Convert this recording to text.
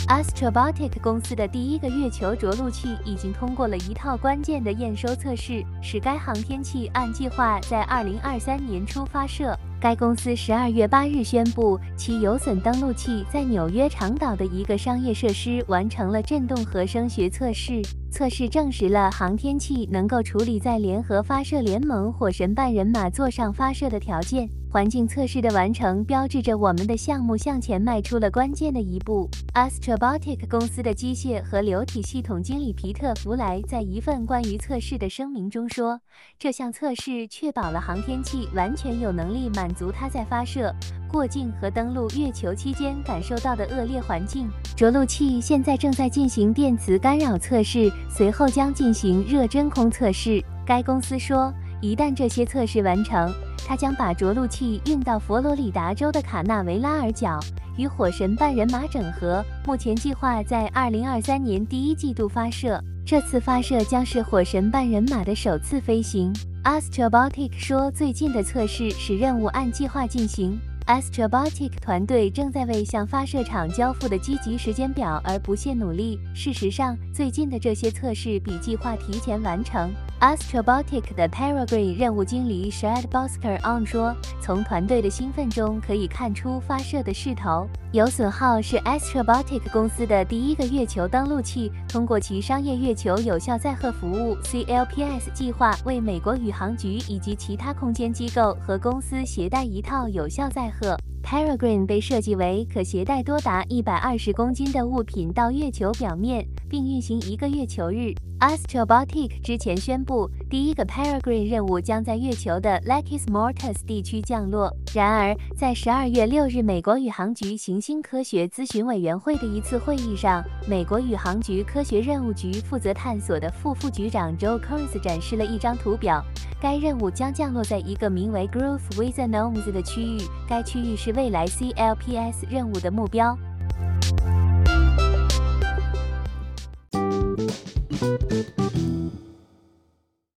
Astrobotic 公司的第一个月球着陆器已经通过了一套关键的验收测试，使该航天器按计划在2023年初发射。该公司12月8日宣布，其有损登陆器在纽约长岛的一个商业设施完成了振动和声学测试。测试证实了航天器能够处理在联合发射联盟火神半人马座上发射的条件。环境测试的完成标志着我们的项目向前迈出了关键的一步。Astrobotic 公司的机械和流体系统经理皮特·弗莱在一份关于测试的声明中说：“这项测试确保了航天器完全有能力满足它在发射、过境和登陆月球期间感受到的恶劣环境。着陆器现在正在进行电磁干扰测试，随后将进行热真空测试。”该公司说，一旦这些测试完成，它将把着陆器运到佛罗里达州的卡纳维拉尔角，与火神半人马整合。目前计划在2023年第一季度发射。这次发射将是火神半人马的首次飞行。Astrobotic 说，最近的测试使任务按计划进行。Astrobotic 团队正在为向发射场交付的积极时间表而不懈努力。事实上，最近的这些测试比计划提前完成。Astrobotic 的 Peregrine 任务经理 Shad Bosker on 说：“从团队的兴奋中可以看出发射的势头。有损号是 Astrobotic 公司的第一个月球登陆器，通过其商业月球有效载荷服务 CLPS 计划，为美国宇航局以及其他空间机构和公司携带一套有效载荷。Peregrine 被设计为可携带多达120公斤的物品到月球表面，并运行1个月球日。Astrobotic 之前宣布，第一个 Peregrine 任务将在月球的 Lakis Mortis 地区降落。然而，在12月6日美国宇航局行星科学咨询委员会的一次会议上，美国宇航局科学任务局负责探索的副局长 Joe Kearns 展示了一张图表。该任务将降落在一个名为 Growth with Anomes 的区域，该区域是未来 CLPS 任务的目标。